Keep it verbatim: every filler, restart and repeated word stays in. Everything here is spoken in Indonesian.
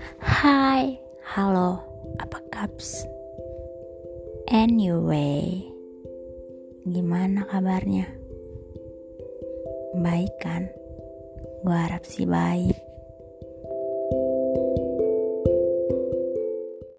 Hai, halo, apa kabar? Anyway, gimana kabarnya? Baik kan? Gue harap sih baik.